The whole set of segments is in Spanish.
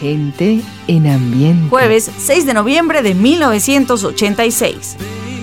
Gente en ambiente. Jueves 6 de noviembre de 1986.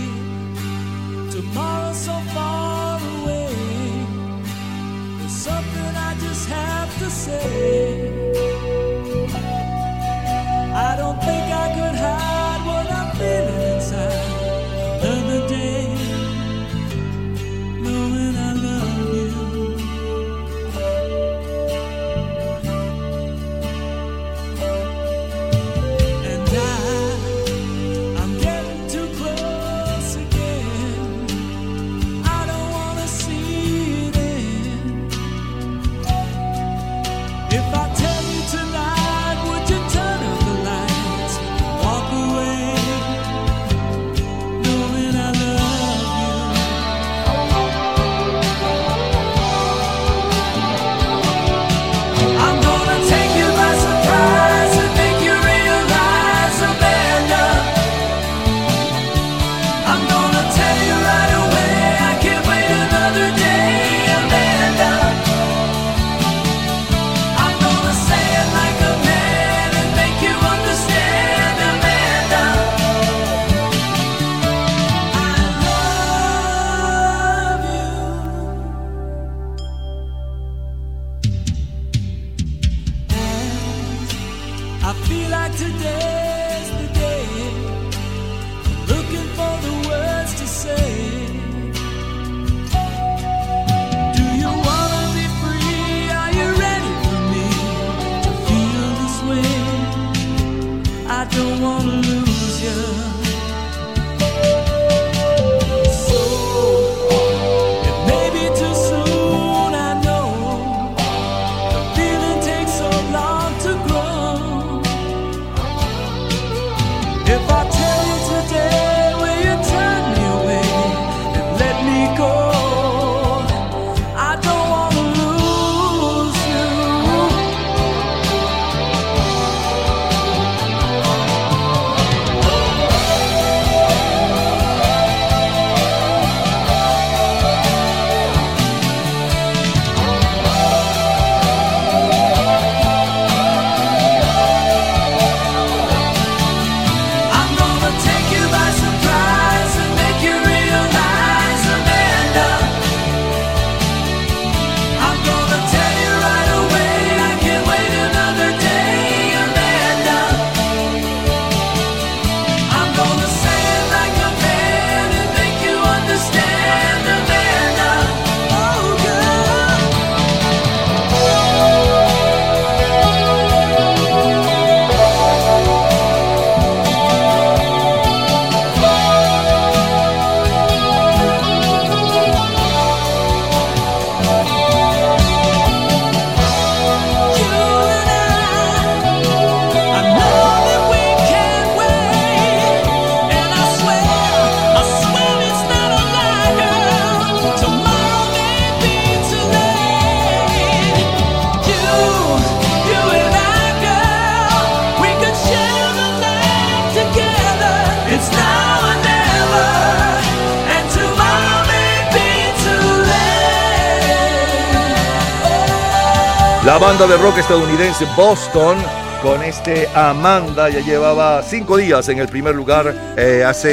La banda de rock estadounidense Boston, con Amanda, ya llevaba 5 días en el primer lugar, hace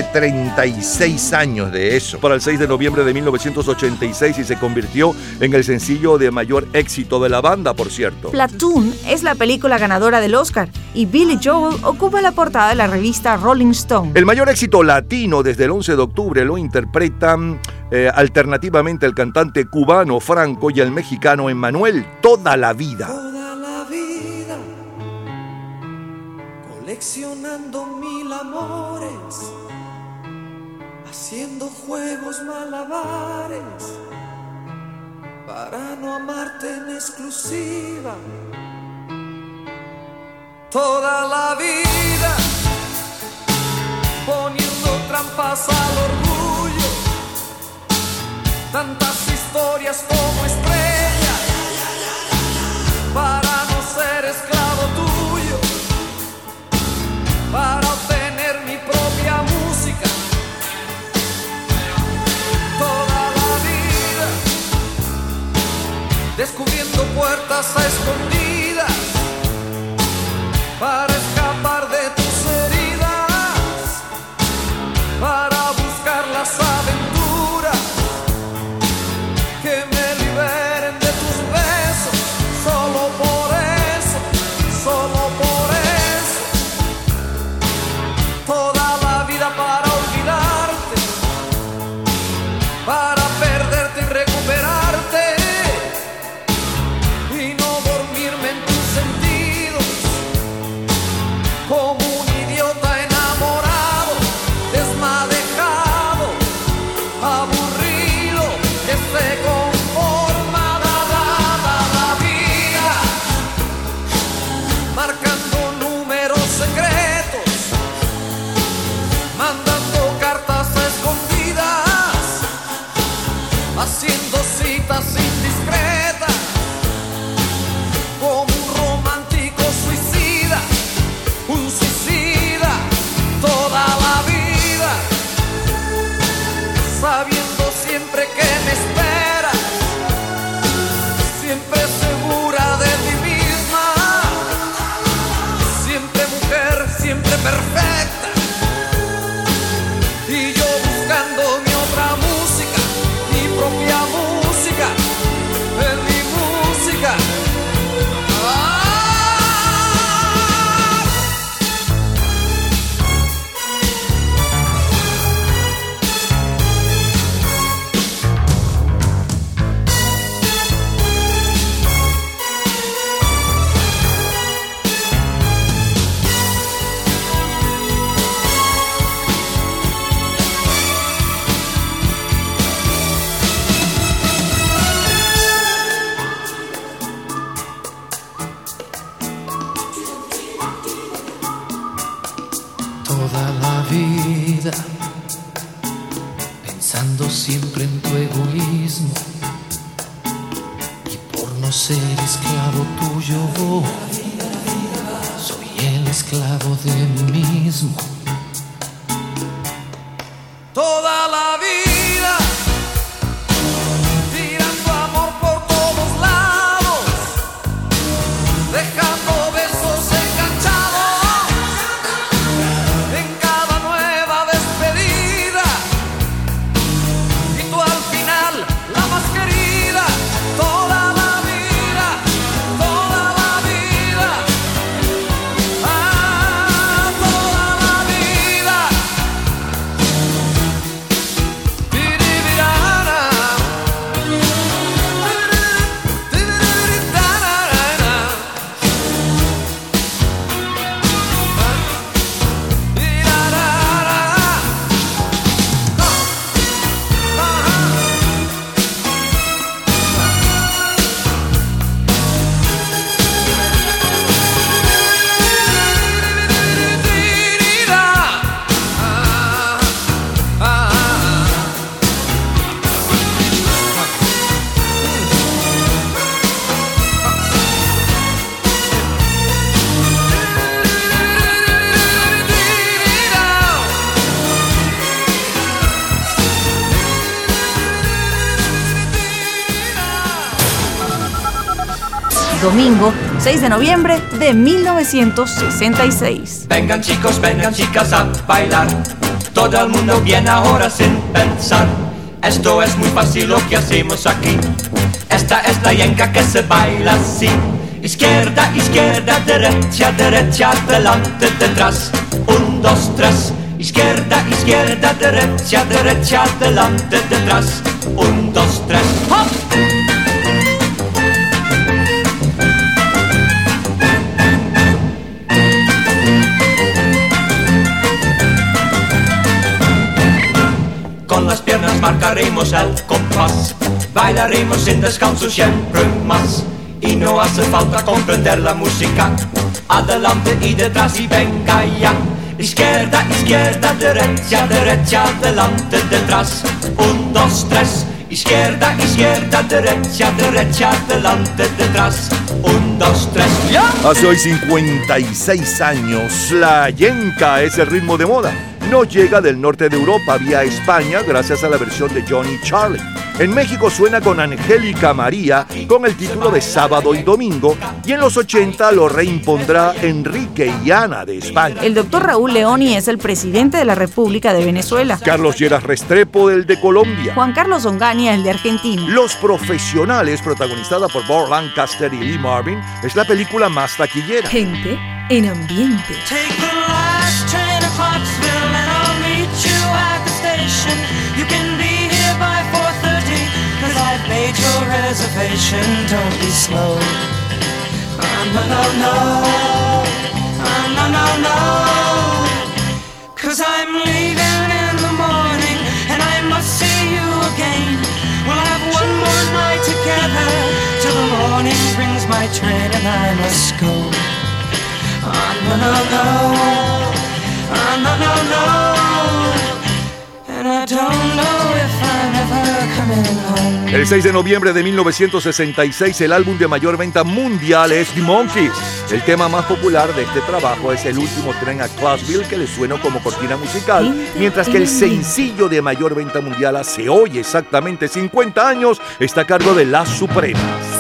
36 años de eso, para el 6 de noviembre de 1986, y se convirtió en el sencillo de mayor éxito de la banda, por cierto. Platoon es la película ganadora del Oscar y Billy Joel ocupa la portada de la revista Rolling Stone. El mayor éxito latino desde el 11 de octubre lo interpretan alternativamente el cantante cubano Franco y el mexicano Emmanuel, Toda la vida. Toda la vida, coleccionando 1000 amores, haciendo juegos malabares, para no amarte en exclusiva. Toda la vida, poniendo trampas al orgullo, tantas historias como estrellas, para no ser esclavo tuyo, para obtener mi propia música. Toda la vida, descubriendo puertas a escondidas, para escapar de tus heridas, para buscar las aventuras que me liberen de tus besos. Solo por eso, toda la vida para olvidarte, para perderte y recuperarte, y no dormirme en tus sentidos, como un idiota enamorado, desmadejado, aburrido, que se conforma la vida, marcando números secretos, mandando cartas escondidas, haciendo citas indiscretas, como un romántico suicida, un suicida toda la vida, sabiendo siempre que me esperas, siempre segura de ti misma, siempre mujer, siempre perfecta, y yo buscando mi otra música, mi propia música, en mi música. Toda la vida pensando siempre en tu egoísmo, y por no ser esclavo tuyo soy el esclavo de mí mismo. Toda la vida tirando amor por todos lados, dejando besos enganchados en cada nueva despedida, y tú al final la más querida. Toda la vida, toda la vida, toda la vida. Domingo 6 de noviembre de 1966. Vengan chicos, vengan chicas a bailar. Todo el mundo viene ahora sin pensar. Esto es muy fácil lo que hacemos aquí. Esta es la yenca que se baila así. Izquierda, izquierda, derecha, derecha, adelante, detrás. 1, 2, 3. Izquierda, izquierda, derecha, derecha, adelante, detrás. 1, 2, 3. ¡Hop! Con las piernas marcaremos el compás, bailaremos sin descanso siempre más, y no hace falta comprender la música. Adelante y detrás y venga ya. Izquierda, izquierda, derecha, derecha, adelante, detrás. 1, 2, 3. Izquierda, izquierda, derecha, derecha, adelante, detrás. 1, 2, 3. ¡Ya! Hace hoy 56 años, la yenca es el ritmo de moda. Nos llega del norte de Europa vía España gracias a la versión de Johnny Charlie. En México suena con Angélica María con el título de Sábado y Domingo, y en los 80 lo reimpondrá Enrique y Ana de España. El doctor Raúl Leoni es el presidente de la República de Venezuela. Carlos Lleras Restrepo, el de Colombia. Juan Carlos Onganía, el de Argentina. Los Profesionales, protagonizada por Burt Lancaster y Lee Marvin, es la película más taquillera. Gente en ambiente. Take the last train to Clarksville and I'll meet you at the station. You can be here by 4:30 'cause I've made your reservation. Don't be slow. No, no, no. No, no, no. 'Cause I'm leaving in the morning and I must see you again. We'll have one more night together till the morning brings my train and I must go. No, no, no. No, no, no. And I don't know if I'm ever coming home. El 6 de noviembre de 1966, el álbum de mayor venta mundial es The Monkees. El tema más popular de este trabajo es El último tren a Clarksville, que le suena como cortina musical, mientras que el sencillo de mayor venta mundial hace hoy exactamente 50 años está a cargo de Las Supremas.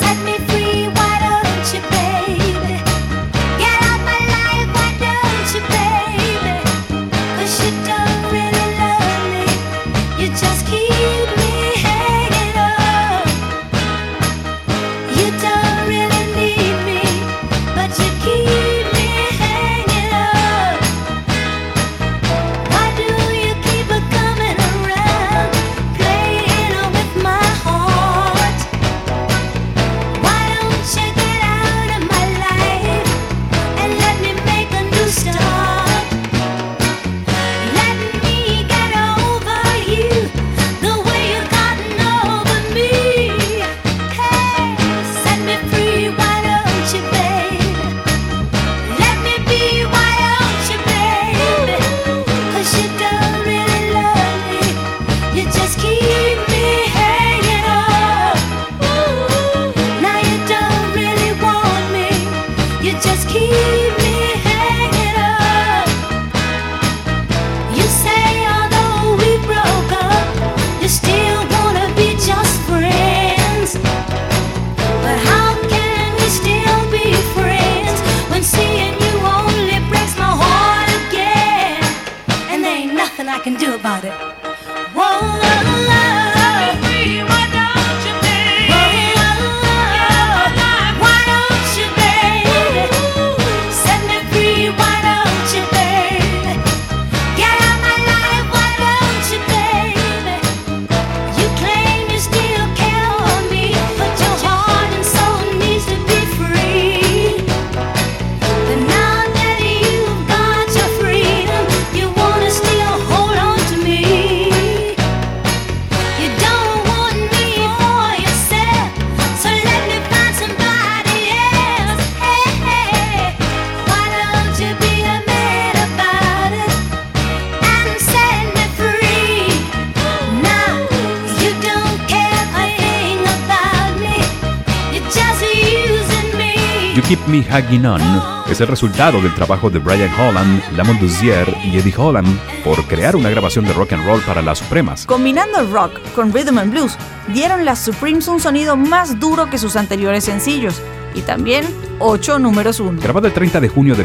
Keep Me Hanging On es el resultado del trabajo de Brian Holland, Lamont Dozier y Eddie Holland por crear una grabación de rock and roll para Las Supremas. Combinando el rock con rhythm and blues, dieron Las Supremes un sonido más duro que sus anteriores sencillos y también 8 números 1. Grabado el 30 de junio de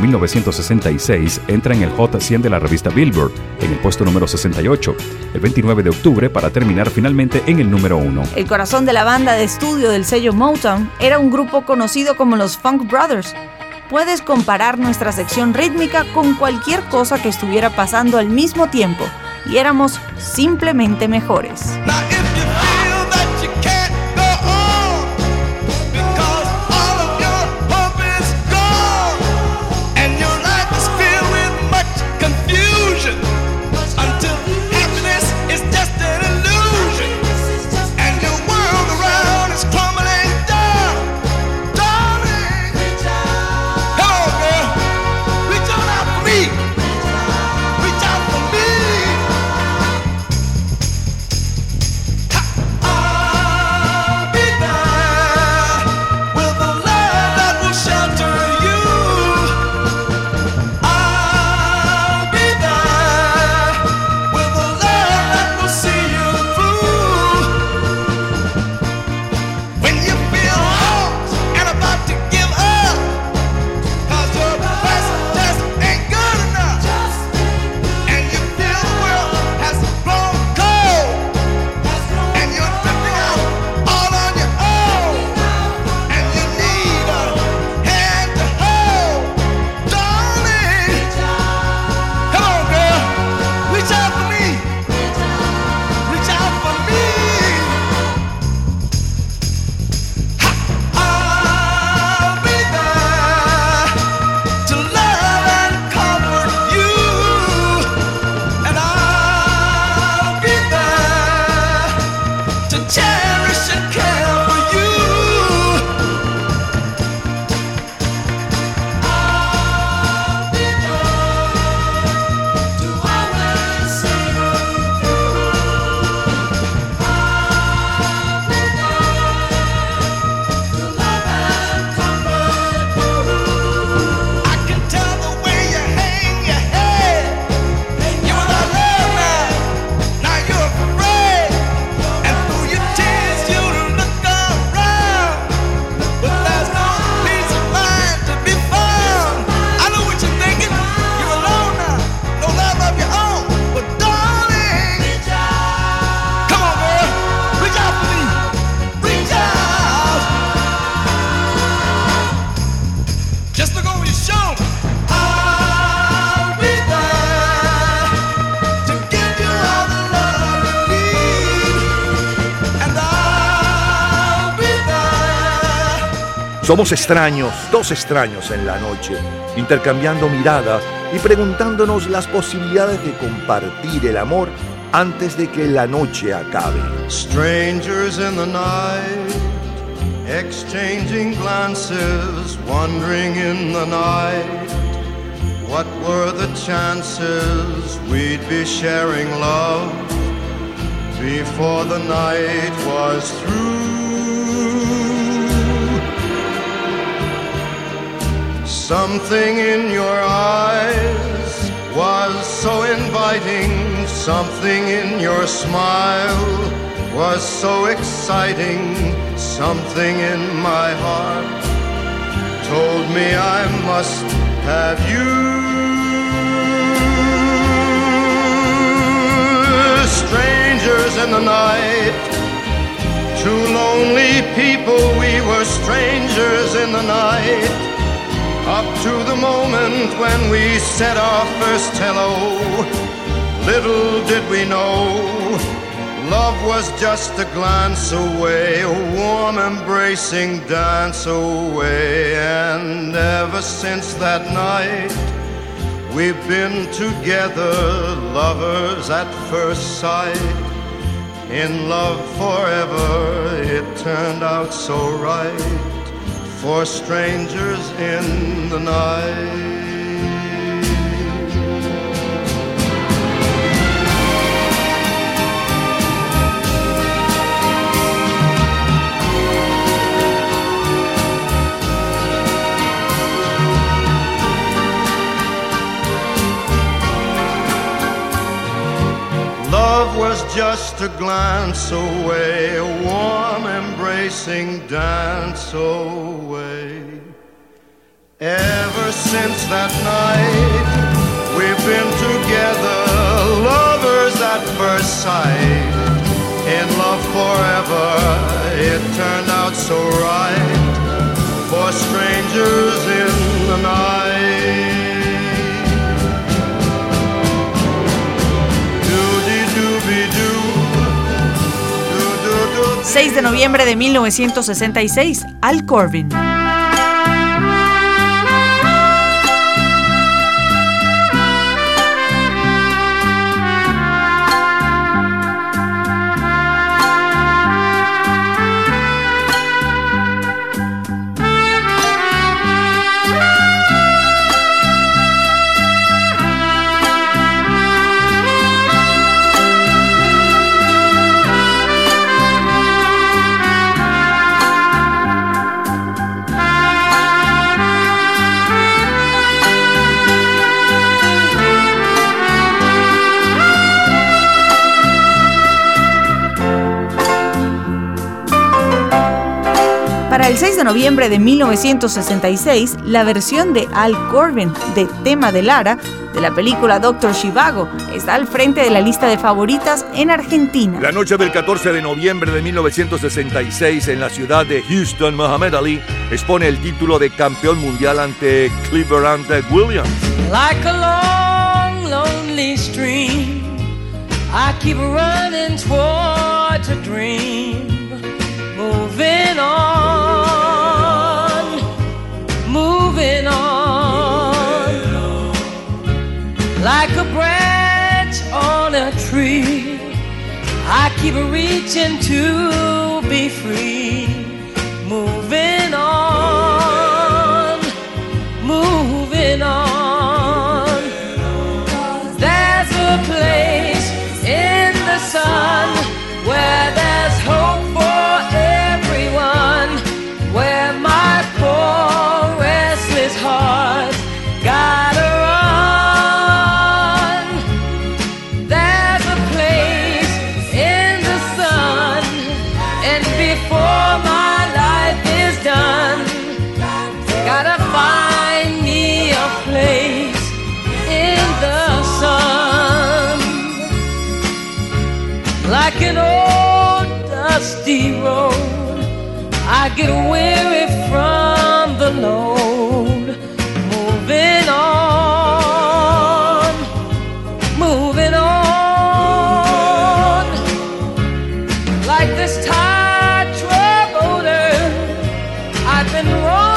1966, entra en el Hot 100 de la revista Billboard, en el puesto número 68, el 29 de octubre para terminar finalmente en el número 1. El corazón de la banda de estudio del sello Motown era un grupo conocido como los Funk Brothers. Puedes comparar nuestra sección rítmica con cualquier cosa que estuviera pasando al mismo tiempo, y éramos simplemente mejores. Somos extraños, dos extraños en la noche, intercambiando miradas y preguntándonos las posibilidades de compartir el amor antes de que la noche acabe. Strangers in the night, exchanging glances, wandering in the night. What were the chances we'd be sharing love before the night was through? Something in your eyes was so inviting, something in your smile was so exciting, something in my heart told me I must have you. Strangers in the night, two lonely people, we were strangers in the night. Up to the moment when we said our first hello, little did we know, love was just a glance away, a warm embracing dance away. And ever since that night, we've been together, lovers at first sight. In love forever, it turned out so right, for strangers in the night. Love was just a glance away, a warm embracing dance away. Ever since that night, we've been together, lovers at first sight. In love forever, it turned out so right, for strangers in the night. 6 de noviembre de 1966, Al Corbin. Para el 6 de noviembre de 1966, la versión de Al Corbin de Tema de Lara, de la película Dr. Zhivago, está al frente de la lista de favoritas en Argentina. La noche del 14 de noviembre de 1966, en la ciudad de Houston, Muhammad Ali expone el título de campeón mundial ante Cleveland Williams. Like a long, lonely stream, I keep running towards a dream, moving on, moving on, like a branch on a tree, I keep reaching to be free, moving on, moving on. There's a place in the sun where there's hope for everyone, where my poor restless heart gotta run. There's a place in the sun, and before my life is done, gotta find me a place in the sun. Like an old dusty road, I get weary from the load, moving on, moving on. Like this tired troubled earth, I've been wrong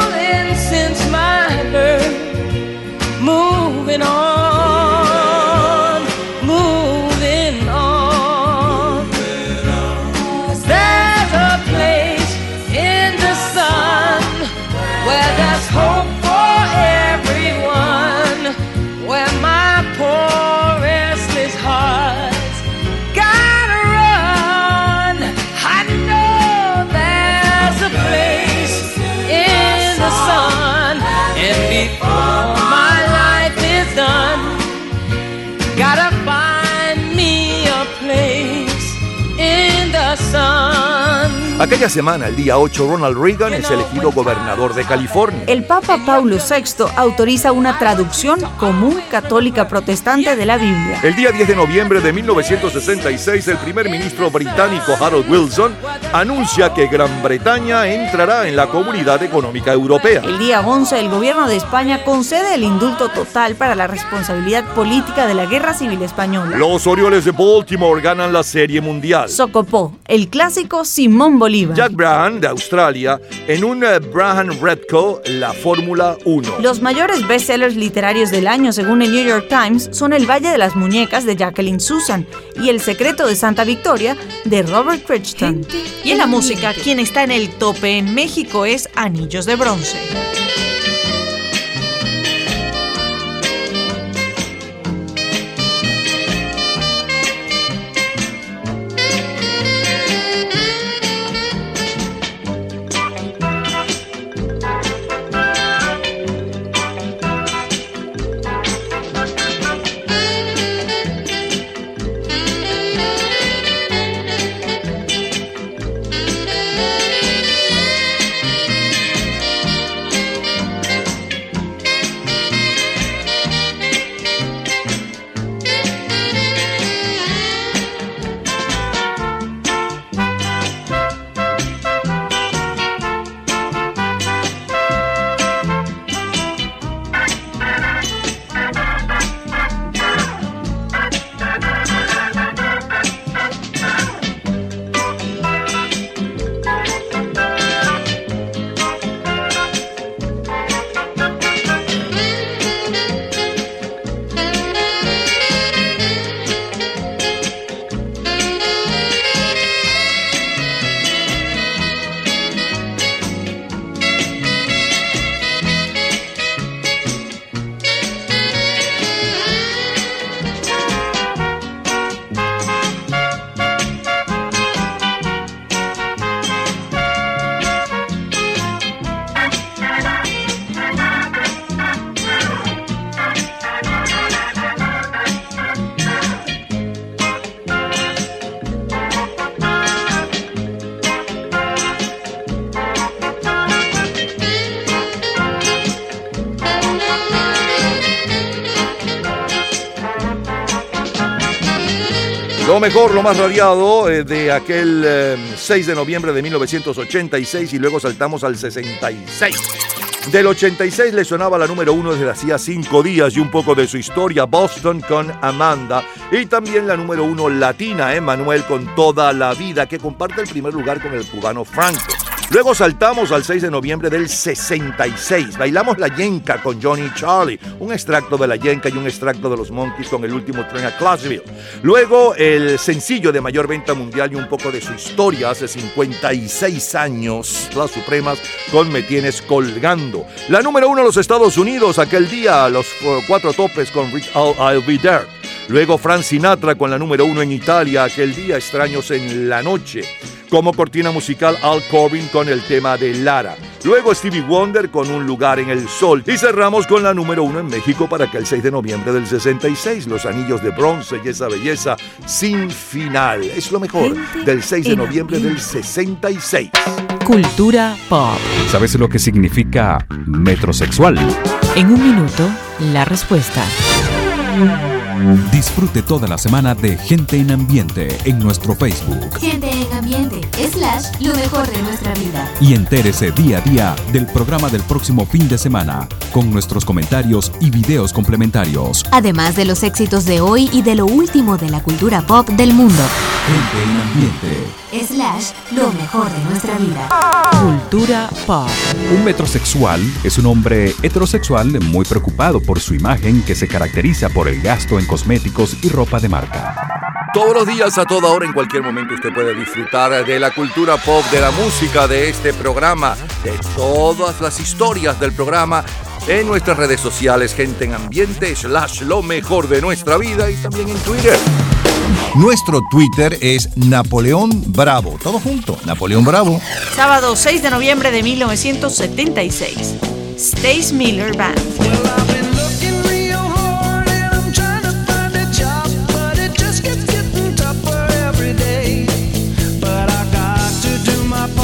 Aquella semana, el día 8, Ronald Reagan es elegido gobernador de California. El Papa Paulo VI autoriza una traducción común católica protestante de la Biblia. El día 10 de noviembre de 1966, el primer ministro británico Harold Wilson anuncia que Gran Bretaña entrará en la Comunidad Económica Europea. El día 11, el gobierno de España concede el indulto total para la responsabilidad política de la Guerra Civil Española. Los Orioles de Baltimore ganan la Serie Mundial. Socopó, el clásico Simón Bolívar. Jack Brabham, de Australia, en un Brabham Redco, la Fórmula 1. Los mayores bestsellers literarios del año, según el New York Times, son El Valle de las Muñecas, de Jacqueline Susann, y El Secreto de Santa Victoria, de Robert Crichton. Y en la música, quien está en el tope en México es Anillos de Bronce. Lo mejor, lo más radiado de aquel 6 de noviembre de 1986 y luego saltamos al 66. Del 86 le sonaba la número 1 desde hacía 5 días y un poco de su historia, Boston con Amanda, y también la número 1 latina, Emmanuel con Toda la Vida, que comparte el primer lugar con el cubano Franco. Luego saltamos al 6 de noviembre del 66. Bailamos La Yenca con Johnny y Charlie, un extracto de La Yenca y un extracto de los Monkees con El Último Tren a Clarksville. Luego el sencillo de mayor venta mundial y un poco de su historia hace 56 años, Las Supremas con Me Tienes Colgando. La número 1 en los Estados Unidos aquel día, Los Cuatro Topes con I'll Be There. Luego Frank Sinatra con la número 1 en Italia aquel día, Extraños en la Noche. Como cortina musical, Al Corbin con el tema de Lara. Luego Stevie Wonder con Un Lugar en el Sol. Y cerramos con la número 1 en México para que el 6 de noviembre del 66, Los Anillos de Bronce y esa belleza sin final. Es lo mejor del 6 de noviembre del 66. Cultura pop. ¿Sabes lo que significa metrosexual? En un minuto, la respuesta. Disfrute toda la semana de Gente en Ambiente en nuestro Facebook. Gente en Ambiente, / lo mejor de nuestra vida. Y entérese día a día del programa del próximo fin de semana, con nuestros comentarios y videos complementarios. Además de los éxitos de hoy y de lo último de la cultura pop del mundo. Gente en Ambiente. / lo mejor de nuestra vida. Cultura pop. Un metrosexual es un hombre heterosexual muy preocupado por su imagen, que se caracteriza por el gasto en cosméticos y ropa de marca. Todos los días, a toda hora, en cualquier momento, usted puede disfrutar de la cultura pop, de la música, de este programa, de todas las historias del programa en nuestras redes sociales, Gente en Ambiente / lo mejor de nuestra vida, y también en Twitter. Nuestro Twitter es Napoleón Bravo. Todo junto, Napoleón Bravo. Sábado 6 de noviembre de 1976. Stace Miller Band. My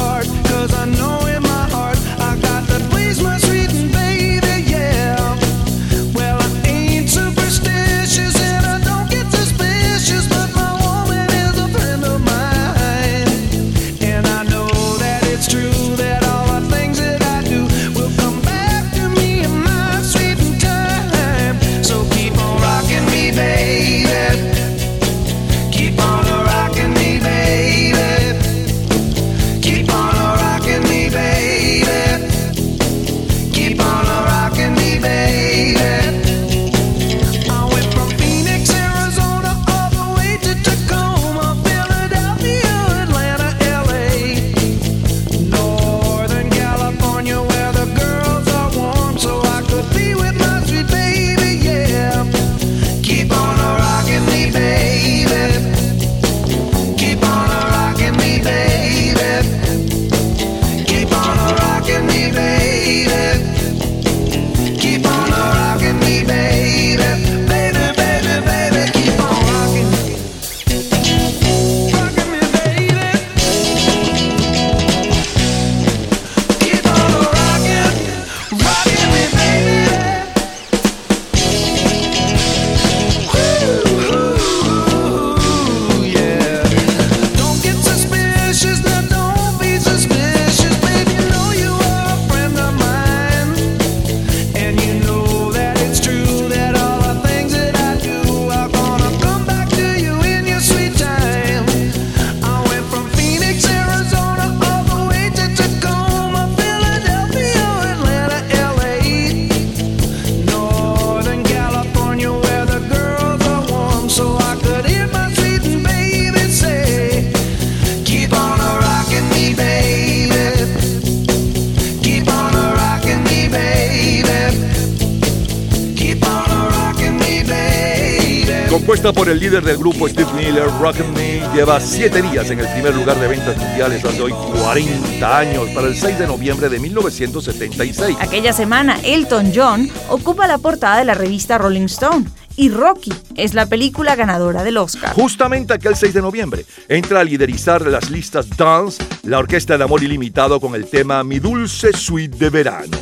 Compuesta por el líder del grupo Steve Miller, Rockin' Me lleva 7 días en el primer lugar de ventas mundiales hace hoy 40 años, para el 6 de noviembre de 1976. Aquella semana, Elton John ocupa la portada de la revista Rolling Stone y Rocky es la película ganadora del Oscar. Justamente aquel 6 de noviembre entra a liderizar las listas Dance la Orquesta de Amor Ilimitado con el tema Mi Dulce Suite de Verano.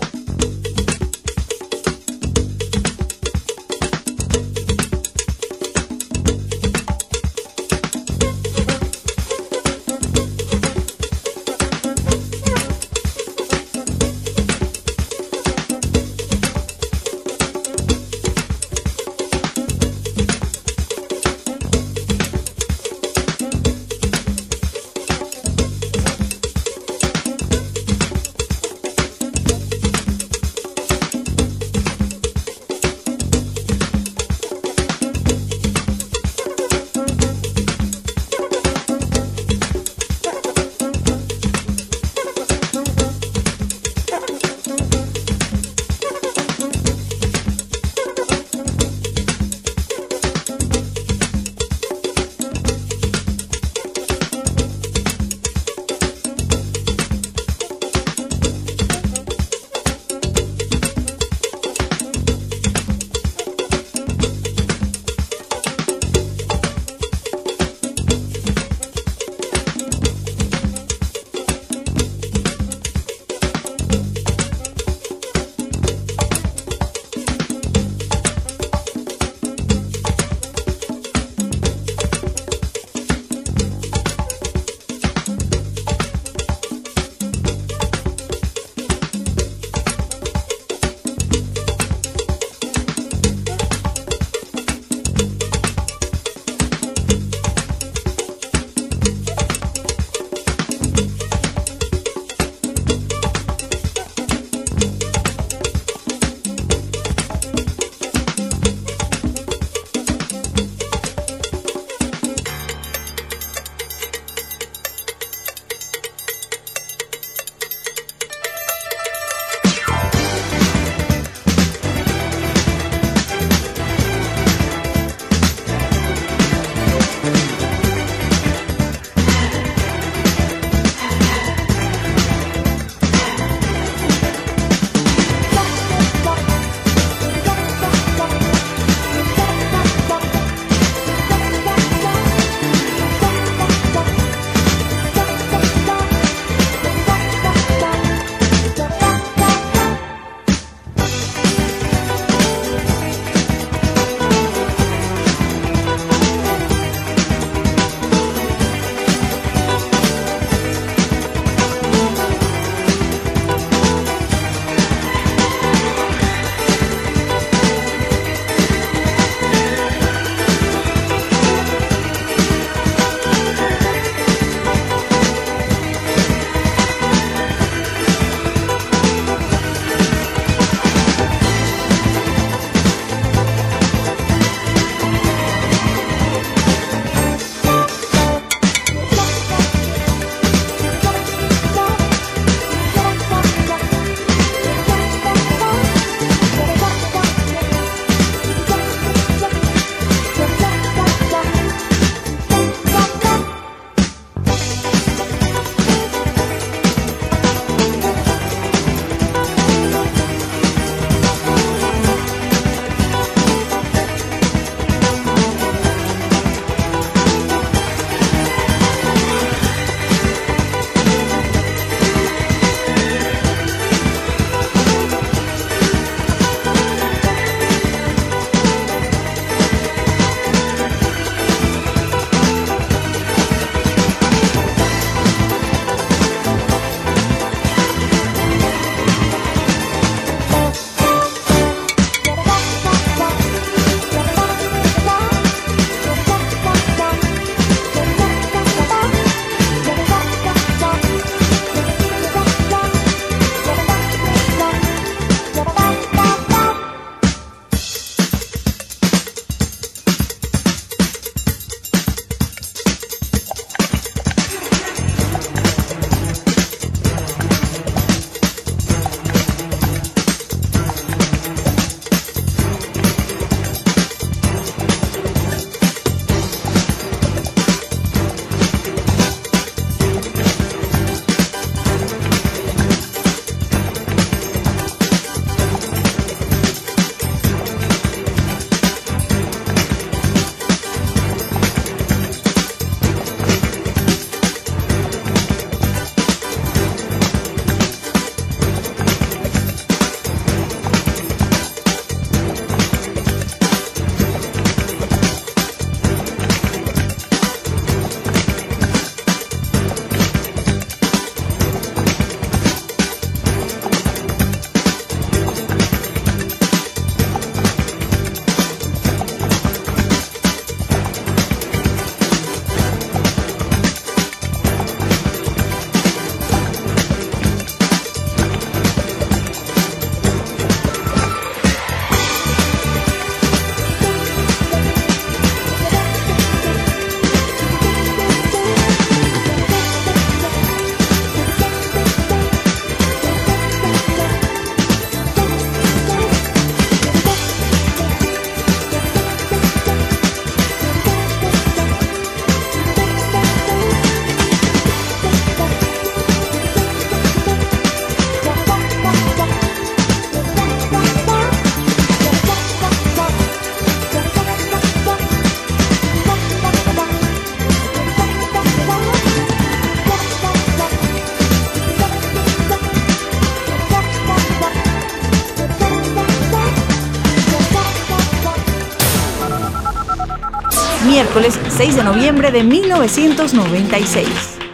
miércoles 6 de noviembre de 1996.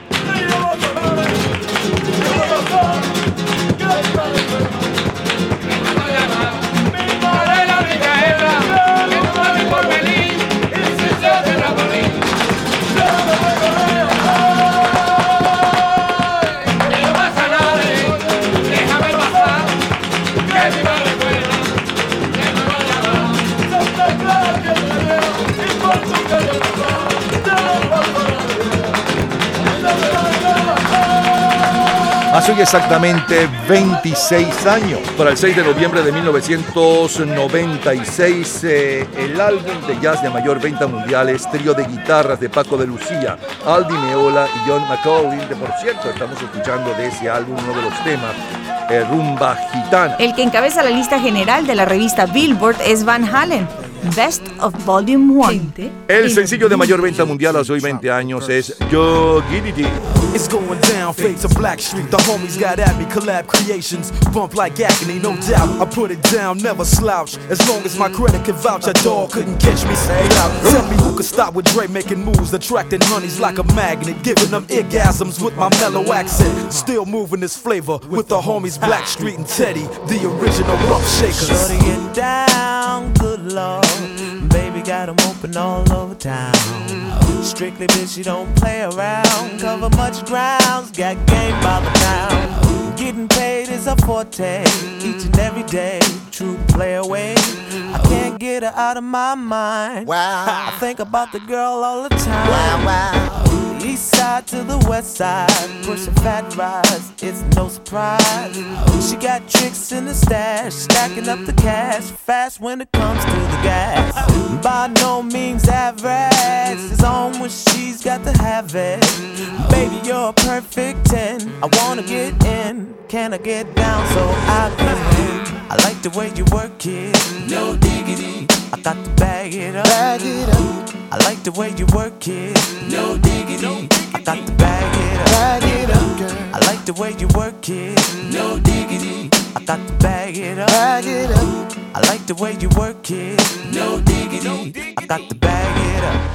Hace hoy exactamente 26 años, para el 6 de noviembre de 1996, el álbum de jazz de mayor venta mundial es Trío de Guitarras de Paco de Lucía, Aldi Meola y John McCauley. Por cierto, estamos escuchando de ese álbum uno de los temas, Rumba Gitana. El que encabeza la lista general de la revista Billboard es Van Halen, Best of Volume 1. El sencillo de mayor venta mundial hace hoy 20 años es Yo Giddity. It's going down, fade to Black Street. The homies got at me, collab creations. Bump like agony, no doubt. I put it down, never slouch. As long as my credit can vouch, a dog couldn't catch me. Say out. Tell me who could stop with Dre making moves, attracting honeys like a magnet, giving them orgasms with my mellow accent. Still moving this flavor with the homies Black Street and Teddy, the original rough shakers. Shorty get down, good lord. Baby got 'em open all over town. Strictly bitch, you don't play around. Cover much grounds, got game by the pound. Getting paid is a forte, each and every day. True play away. I can't get her out of my mind. Wow. I think about the girl all the time. Wow, wow. East side to the west side, pushing fat rides, it's no surprise. She got tricks in the stash, stacking up the cash, fast when it comes to the gas. By no means average, it's on when she's got to have it. Baby, you're a perfect 10, I wanna get in, can I get down so I can win? I like the way you work it, no diggity, I got to bag it up. Bag it up. I like the way you work it, no diggity, I got to bag it up. Bag it up, girl. I like the way you work it, no diggity, I got to bag it up. Bag it up. I like the way you work it, no diggity, I got to bag it up.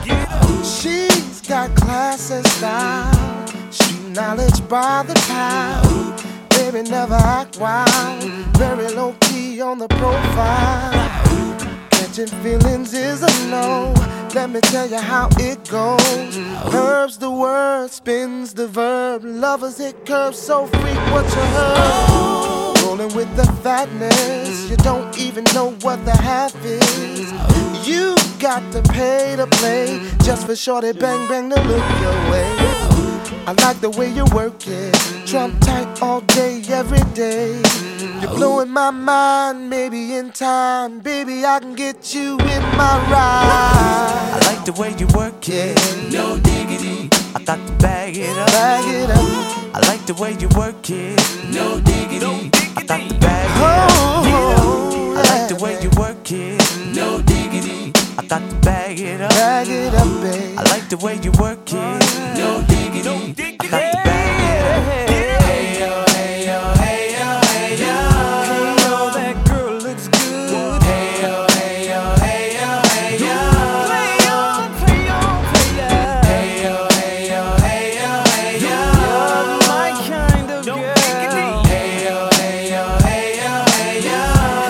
She's got class and style, street knowledge by the pound. Baby never act wild, very low key on the profile. Catching feelings is a no. Let me tell you how it goes. Herbs the word, spins the verb. Lovers hit curves, so freak what you heard. Rolling with the fatness, you don't even know what the half is. You got to pay to play, just for shorty bang bang to look your way. I like the way you work it, Trump tight all day, every day. You're blowing my mind, maybe in time, baby, I can get you in my ride. I like the way you work it, no diggity, I got to bag it up. Bag it up. I like the way you work it, no diggity, I got to bag it up. I like the way you work it, no diggity, I got to bag it up. Bag it up, babe. I like the way you work it, no diggity, I got to bag it up. Hey yo, hey yo, hey yo, hey yo. Hey yo, that girl looks good. Hey yo, hey yo, hey yo, hey yo. Play on, play on, play on. Hey yo, hey yo, hey yo, hey yo. You're my kind of girl. Hey yo, hey yo, hey yo, hey yo.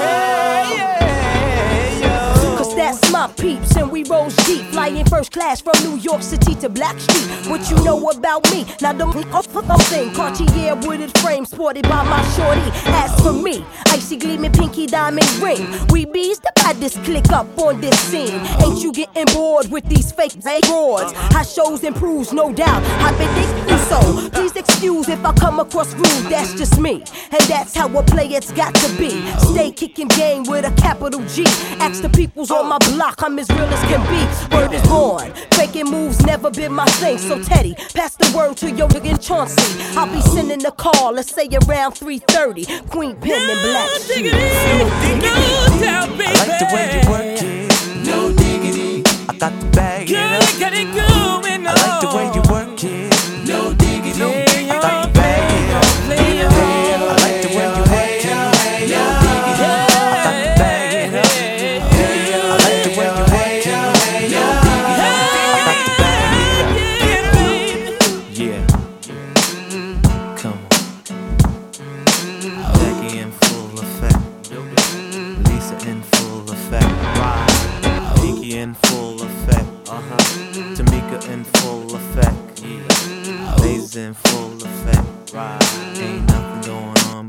Hey yo. Cause that's my peeps and we rose deep, flying first class from New York City to Black Street. What you know about me? Now don't thing. Cartier wooded frame sported by my shorty. As for me, icy gleaming pinky diamond ring. We bees the baddest click up on this scene. Ain't you getting bored with these fake broads? How shows improves, no doubt. I've been thinking so. Please excuse if I come across rude. That's just me, and that's how a player's got to be. Stay kicking game with a capital G. Ask the peoples on my block, I'm as real as can be. Word is born, faking moves never been my thing. So Teddy, pass the word to your nigga Chauncey. I'll be sending a call, let's say around 3:30. Queen Pen and Black Street. I like the way you work it, no diggity, I got to bag it up. I like the way you work it, no diggity, I got to bag it up. I like the way you work it, no diggity, I got to bag it up. I like the way you work it, no diggity,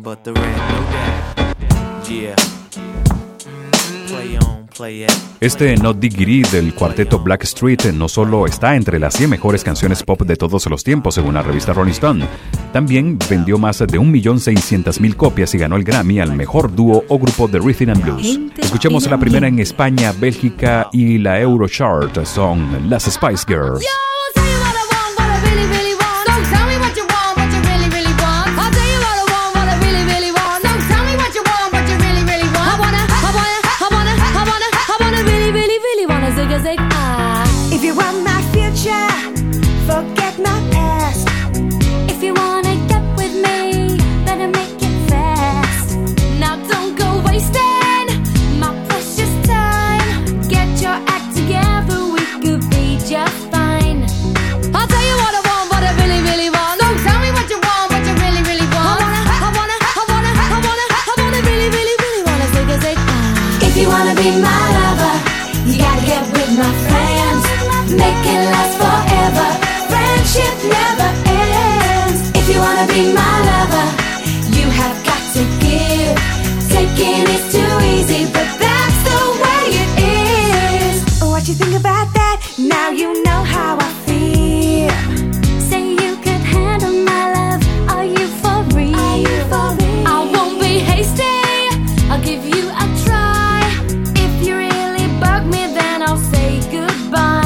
but the red, no doubt. Yeah. Play on, play it. Este No Diggity del cuarteto Blackstreet no solo está entre las 100 mejores canciones pop de todos los tiempos según la revista Rolling Stone, también vendió más de 1.600.000 copias y ganó el Grammy al mejor dúo o grupo de Rhythm and Blues. Escuchemos la primera en España, Bélgica y la Eurochart, son las Spice Girls. If you want my future, forget my past. If you wanna get with me, better make it fast. Now don't go wasting my precious time. Get your act together, we could be just fine. I'll tell you what I want, what I really, really want. Don't tell me what you want, what you really, really want. I wanna really, really, really wanna zig. If you wanna be my lover, you gotta get with my friends. Make it last forever. Friendship never ends. If you wanna be my lover, you have got to give. Taking is too easy, but that's the way it is. What you think about that? Now you know how I feel. Say you could handle my love. Are you for real? I won't be hasty. I'll give you a try. If you really bug me, then I'll say goodbye.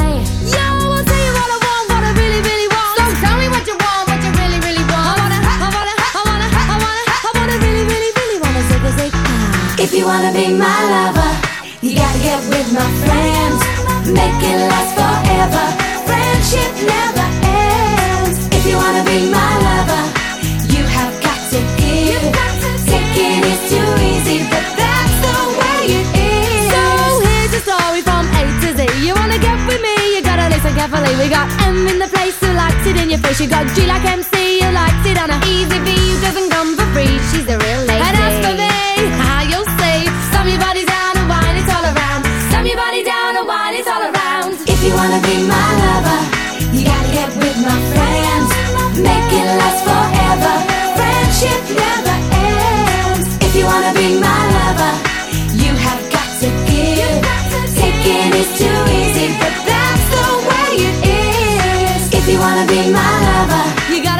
If you wanna be my lover, you gotta get with my friends. Make it last forever. Friendship never ends. If you wanna be my lover, you have got to give. Taking is too easy, but that's the way it is. So here's the story from A to Z. You wanna get with me, you gotta listen carefully. We got M in the place who likes it in your face. You got G like MC who likes it on a easy V who doesn't come for free. She's a real lady. And as for me, you'll say, slam your body down and whine it all around. Slam your body down and whine it all around. If you wanna be my lover, you gotta get with my friends. Make it last forever. Friendship never ends. If you wanna be my lover, you have got to give. Taking is too easy, but that's the way it is. If you wanna be my lover, you gotta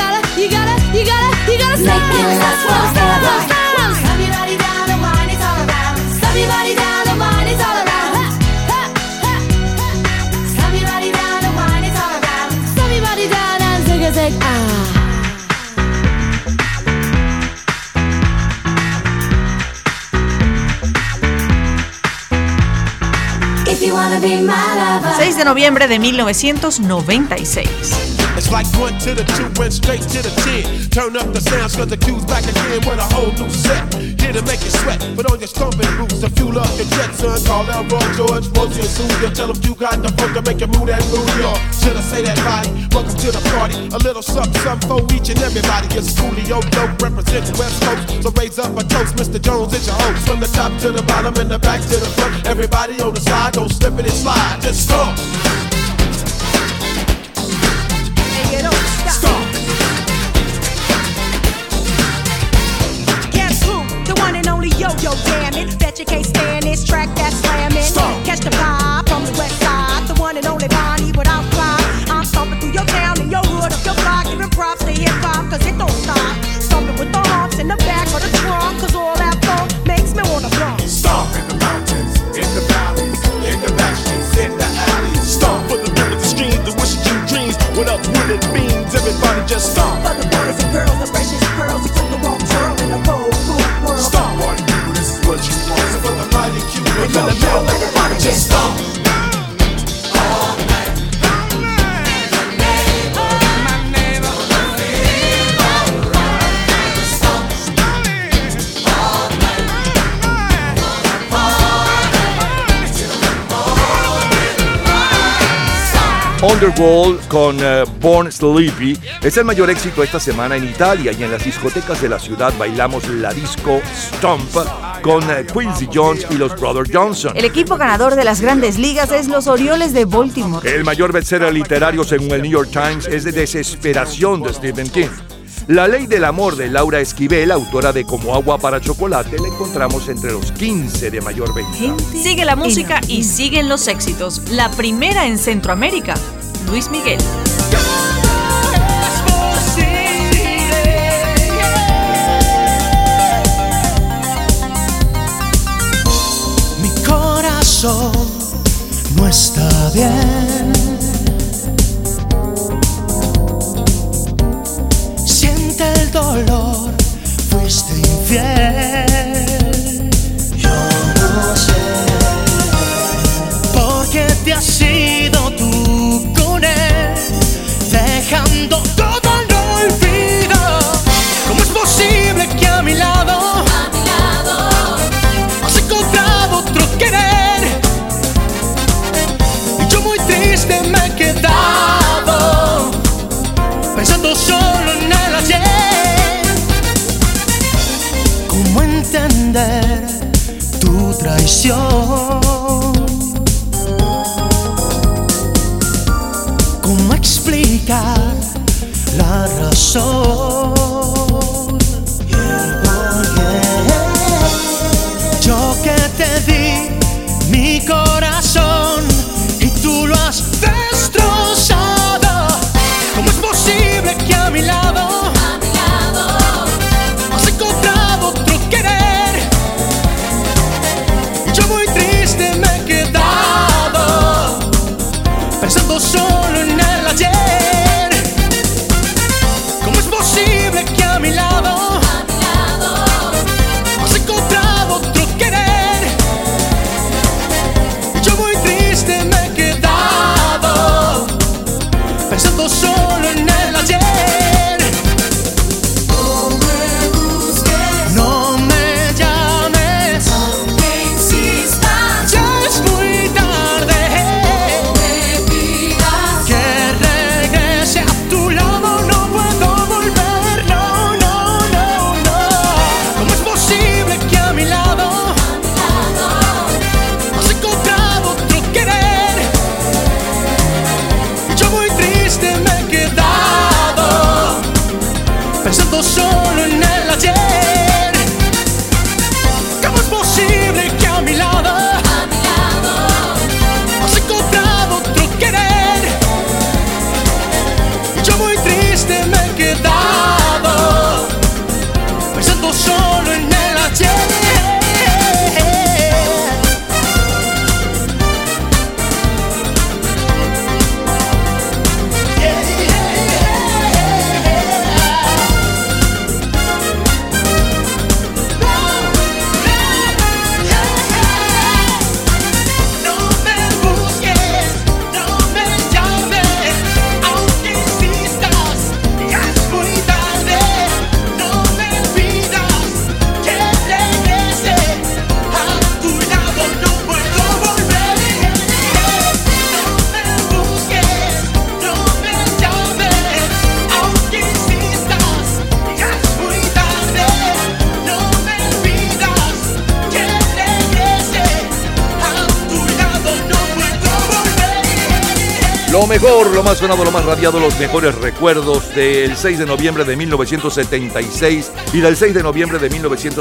make it last forever. Everybody down and wine it all around. Slam your body down and wine it all around. Slam your body down and zig If you wanna be my lover. 6 de noviembre de 1996. It's like 1 to the 2, went straight to the 10. Turn up the sounds cause the cue's back again with a whole new set. Here to make you sweat, put on your stomping boots to fuel up your jet, son. Call out Roy George, Rosie and Susie. Tell them you got the funk to make you move that New York. Should I say that body? Welcome to the party. A little something for each and everybody. It's Coolio Dope representing West Coast. So raise up a toast, Mr. Jones is your host. From the top to the bottom and the back to the front. Everybody on the side, don't slip it and slide. Just stomp. Yo, damn it, bet you can't stand this track that's slamming. Catch the vibe from the west side, the one and only Bonnie without fly. I'm stomping through your town and your hood, up your block, giving props to hip-hop, cause it don't stop. Stomping with the humps in the back of the trunk, cause all that funk makes me wanna flunk. Stomp in the mountains, in the valleys, in the back streets, in the alleys. Stomp for the rivers and streams, the wishes and dreams. What up, wooded beans, everybody just stomp. For the boys and girls, the freshest pearls, who took the wrong turn in the cold, cool world. Stomp, party people, this is what you want. So for the mighty cute, we're gonna nail everybody just stomp. Underworld con Born Sleepy es el mayor éxito esta semana en Italia, y en las discotecas de la ciudad bailamos la disco Stomp con Quincy Jones y los Brothers Johnson. El equipo ganador de las grandes ligas es los Orioles de Baltimore. El mayor bestseller literario según el New York Times es de Desesperación de Stephen King. La ley del amor de Laura Esquivel, autora de Como agua para chocolate, la encontramos entre los 15 de mayor venta. Sigue la música y siguen los éxitos. La primera en Centroamérica, Luis Miguel. Mi corazón no está bien. Siente el dolor, fuiste infiel. Yo no sé por qué te has ido tú con él, dejando todo al olvido. ¿Cómo es posible que a mi lado has encontrado otro querer? Y yo muy triste me he quedado pensando solo en el ayer. ¿Cómo entender tu traición? ¿Cómo explicar la razón? Yo que te di mi corazón y tú lo has destrozado. ¿Cómo es posible que a mi lado has encontrado otro querer? Y yo muy triste me he quedado pensando solo en el ayer. ¿Cómo es posible que a mi lado has encontrado otro querer? Y yo muy triste me he quedado pensando solo en el ayer. No me busques, no me llames, aunque insistas, ya es muy tarde. No me pidas que regrese a tu lado, no puedo volver, no, no, no, no. ¿Cómo es posible que a mi lado has encontrado otro querer? Y yo muy triste me he quedado pensando solo en el ayer. ¿Cómo es posible que a mi lado has encontrado otro querer? Y yo muy triste me he quedado pensando solo en el ayer. No me busques, no me llames, aunque insistas, ya es muy tarde. No me pidas que regrese a tu lado, no puedo volver. No me busques, no me llames, aunque insistas, ya es muy tarde. No me pidas que regrese a tu lado, no puedo volver. Lo mejor, lo más sonado, lo más radiado, los mejores recuerdos del 6 de noviembre de 1976 y del 6 de noviembre de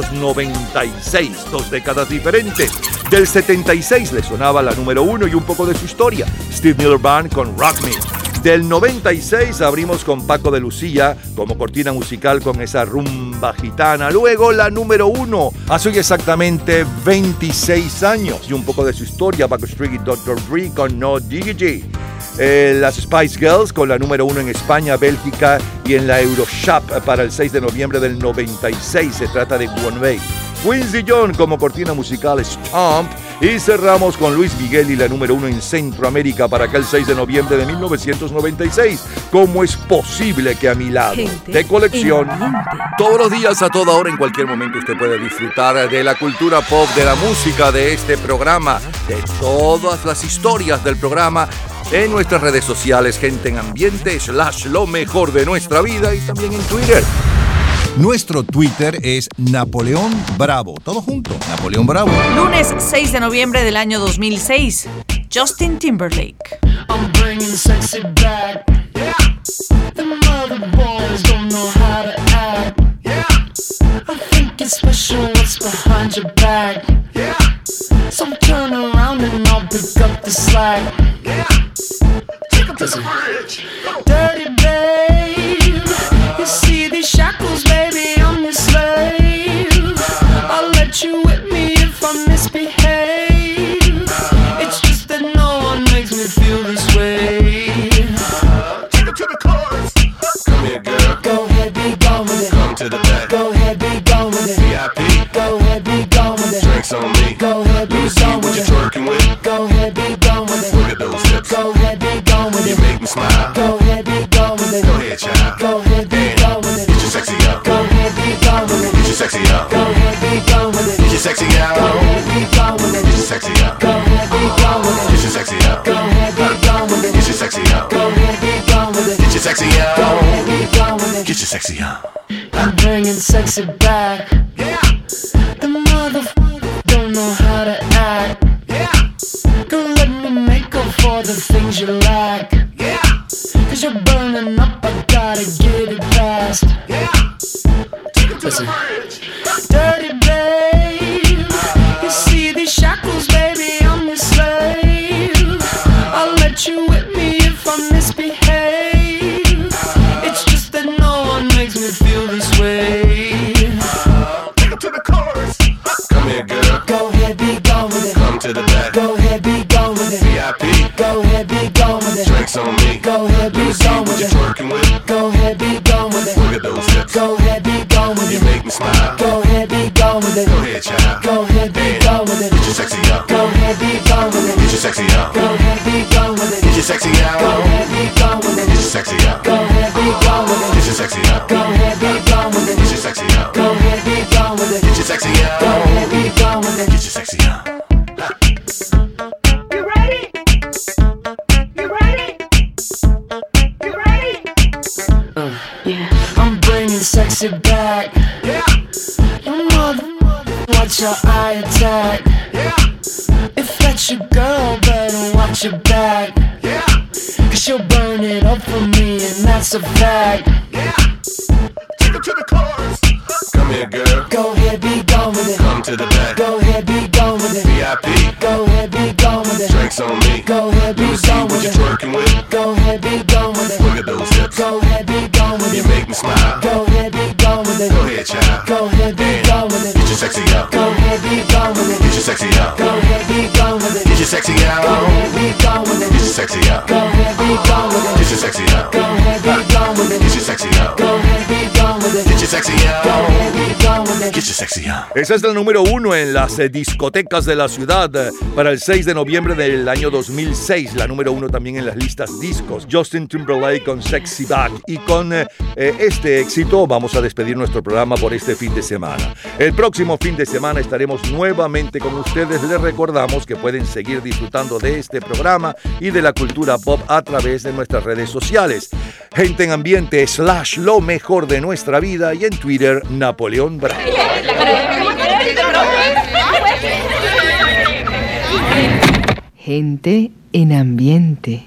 1996, 2 décadas diferentes. Del 76 le sonaba la número 1 y un poco de su historia, Steve Miller Band con Rock Me. Del 96 abrimos con Paco de Lucía como cortina musical con esa rumba gitana. Luego la número 1, hace hoy exactamente 26 años y un poco de su historia, Backstreet y Dr. Dre con No Diggity. Las Spice Girls con la número 1 en España, Bélgica y en la Euroshop para el 6 de noviembre del 96. Se trata de One Way. Quincy Jones como cortina musical, Stomp. Y cerramos con Luis Miguel y la número 1 en Centroamérica para aquel 6 de noviembre de 1996. ¿Cómo es posible que a mi lado? De colección. Todos los días, a toda hora, en cualquier momento usted puede disfrutar de la cultura pop, de la música, de este programa, de todas las historias del programa en nuestras redes sociales, Gente en Ambiente, / lo mejor de nuestra vida, y también en Twitter. Nuestro Twitter es Napoleón Bravo. Todo junto, Napoleón Bravo. Lunes 6 de noviembre del año 2006. Justin Timberlake. I'm bringing sexy back. Yeah. The mother boys don't know how to it special what's behind your back. Yeah. So turn around and I'll pick up the slack. Yeah. Take him to the bridge. Dirty babe, you see these shackles, baby, I'm your slave. I'll let you whip me if I misbehave. It's just that no one makes me feel this way. Take him to the chorus. Come here, girl. Go ahead, be gone with it. Come to the back. Go ahead, be gone with it. VIP. Go ahead, be gone with it. Drinks on me. Go ahead, be gone with it. What you twerking with? Go ahead, be gone with it. Look at those hips. Go ahead, be gone with it. You make me smile. Go ahead, be gone with it. Go ahead, child. Go ahead, be gone with it. Get your sexy out. Go ahead, be gone with it. Get your sexy out. Go ahead, be gone with it. Get your sexy out. Go ahead, be gone with it. Get your sexy out. Go ahead, be gone with it. Get your sexy out. Go ahead, be gone with it. Get your sexy out. Go ahead, be gone with it. Get your sexy out. Go ahead, be gone with it. Get your sexy out. I'm bringing sexy back. Yeah. The motherfucker don't know how to act. Yeah. Don't let me make up for the things you lack. Yeah. Cause you're burning up, I gotta get it fast. Yeah. Take him to Listen. the bridge. Dirty babe, you see these shackles, baby, I'm your slave. I'll let you whip me if I misbehave. It's just that no one makes me feel this way. Take him to the chorus. Come here, girl. Go ahead, be gone with it. Come to the back. Go ahead, be gone with it. VIP. Go ahead, be gone with it. Drinks on me. Go ahead, be gone What with you it. twerking with? Go ahead, be gone with it. Look at those hips. Go ahead, be gone with You it. make me smile. Go ahead, be gone with it. Go ahead, child. Go ahead, be gone with it. Get your sexy out. Go ahead, be gone with it. Get your sexy out. Go ahead, be gone with it. Get your sexy out. Go ahead, be gone with it. Get your sexy out. Go ahead, be gone with it. Get your sexy out. Go ahead, be gone with it. Get your sexy out. Go ahead, be gone with it. Get your sexy out. Go ahead, be gone with it. Get your sexy out. You ready? You ready? You ready? Yeah. I'm bringing sexy back. Yeah. Your mother, watch your eye attack. Yeah. If that's your girl, better watch your back. Yeah. Cause she'll burn it up for me, and that's a fact. Yeah. Take him to the chorus. Come here, girl. Go ahead, be gone with it. Come to the back. Go ahead, be gone with it. VIP. Go ahead, be gone with it. Drinks on me. Go ahead, be gone What with you it. twerking with? Go ahead, be gone with it. Look at those hips. Go ahead, be gone with You it. make me smile. Go ahead, be gone with it. Go ahead, child. Go ahead, be gone with it. Get your sexy out. Go ahead, be gone with it. Get your sexy out. Go ahead, be gone with it. Get your sexy out. Go ahead, be gone with it. Get your sexy out. Go ahead, be gone with it. Get your sexy out. Go ahead, be gone with it. Get your sexy out. Go ahead, be gone with it. Get your sexy out. Go ahead, be gone with it. Get your sexy out. Esa es la número 1 en las discotecas de la ciudad para el 6 de noviembre del año 2006. La número 1 también en las listas discos. Justin Timberlake con Sexy Back. Y con este éxito vamos a despedir nuestro programa por este fin de semana. El próximo fin de semana estaremos nuevamente con ustedes. Les recordamos que pueden seguir disfrutando de este programa y de la cultura pop a través de nuestras redes sociales. Gente en Ambiente / lo mejor de nuestra vida y en Twitter Napoleón Bravo. Gente en Ambiente.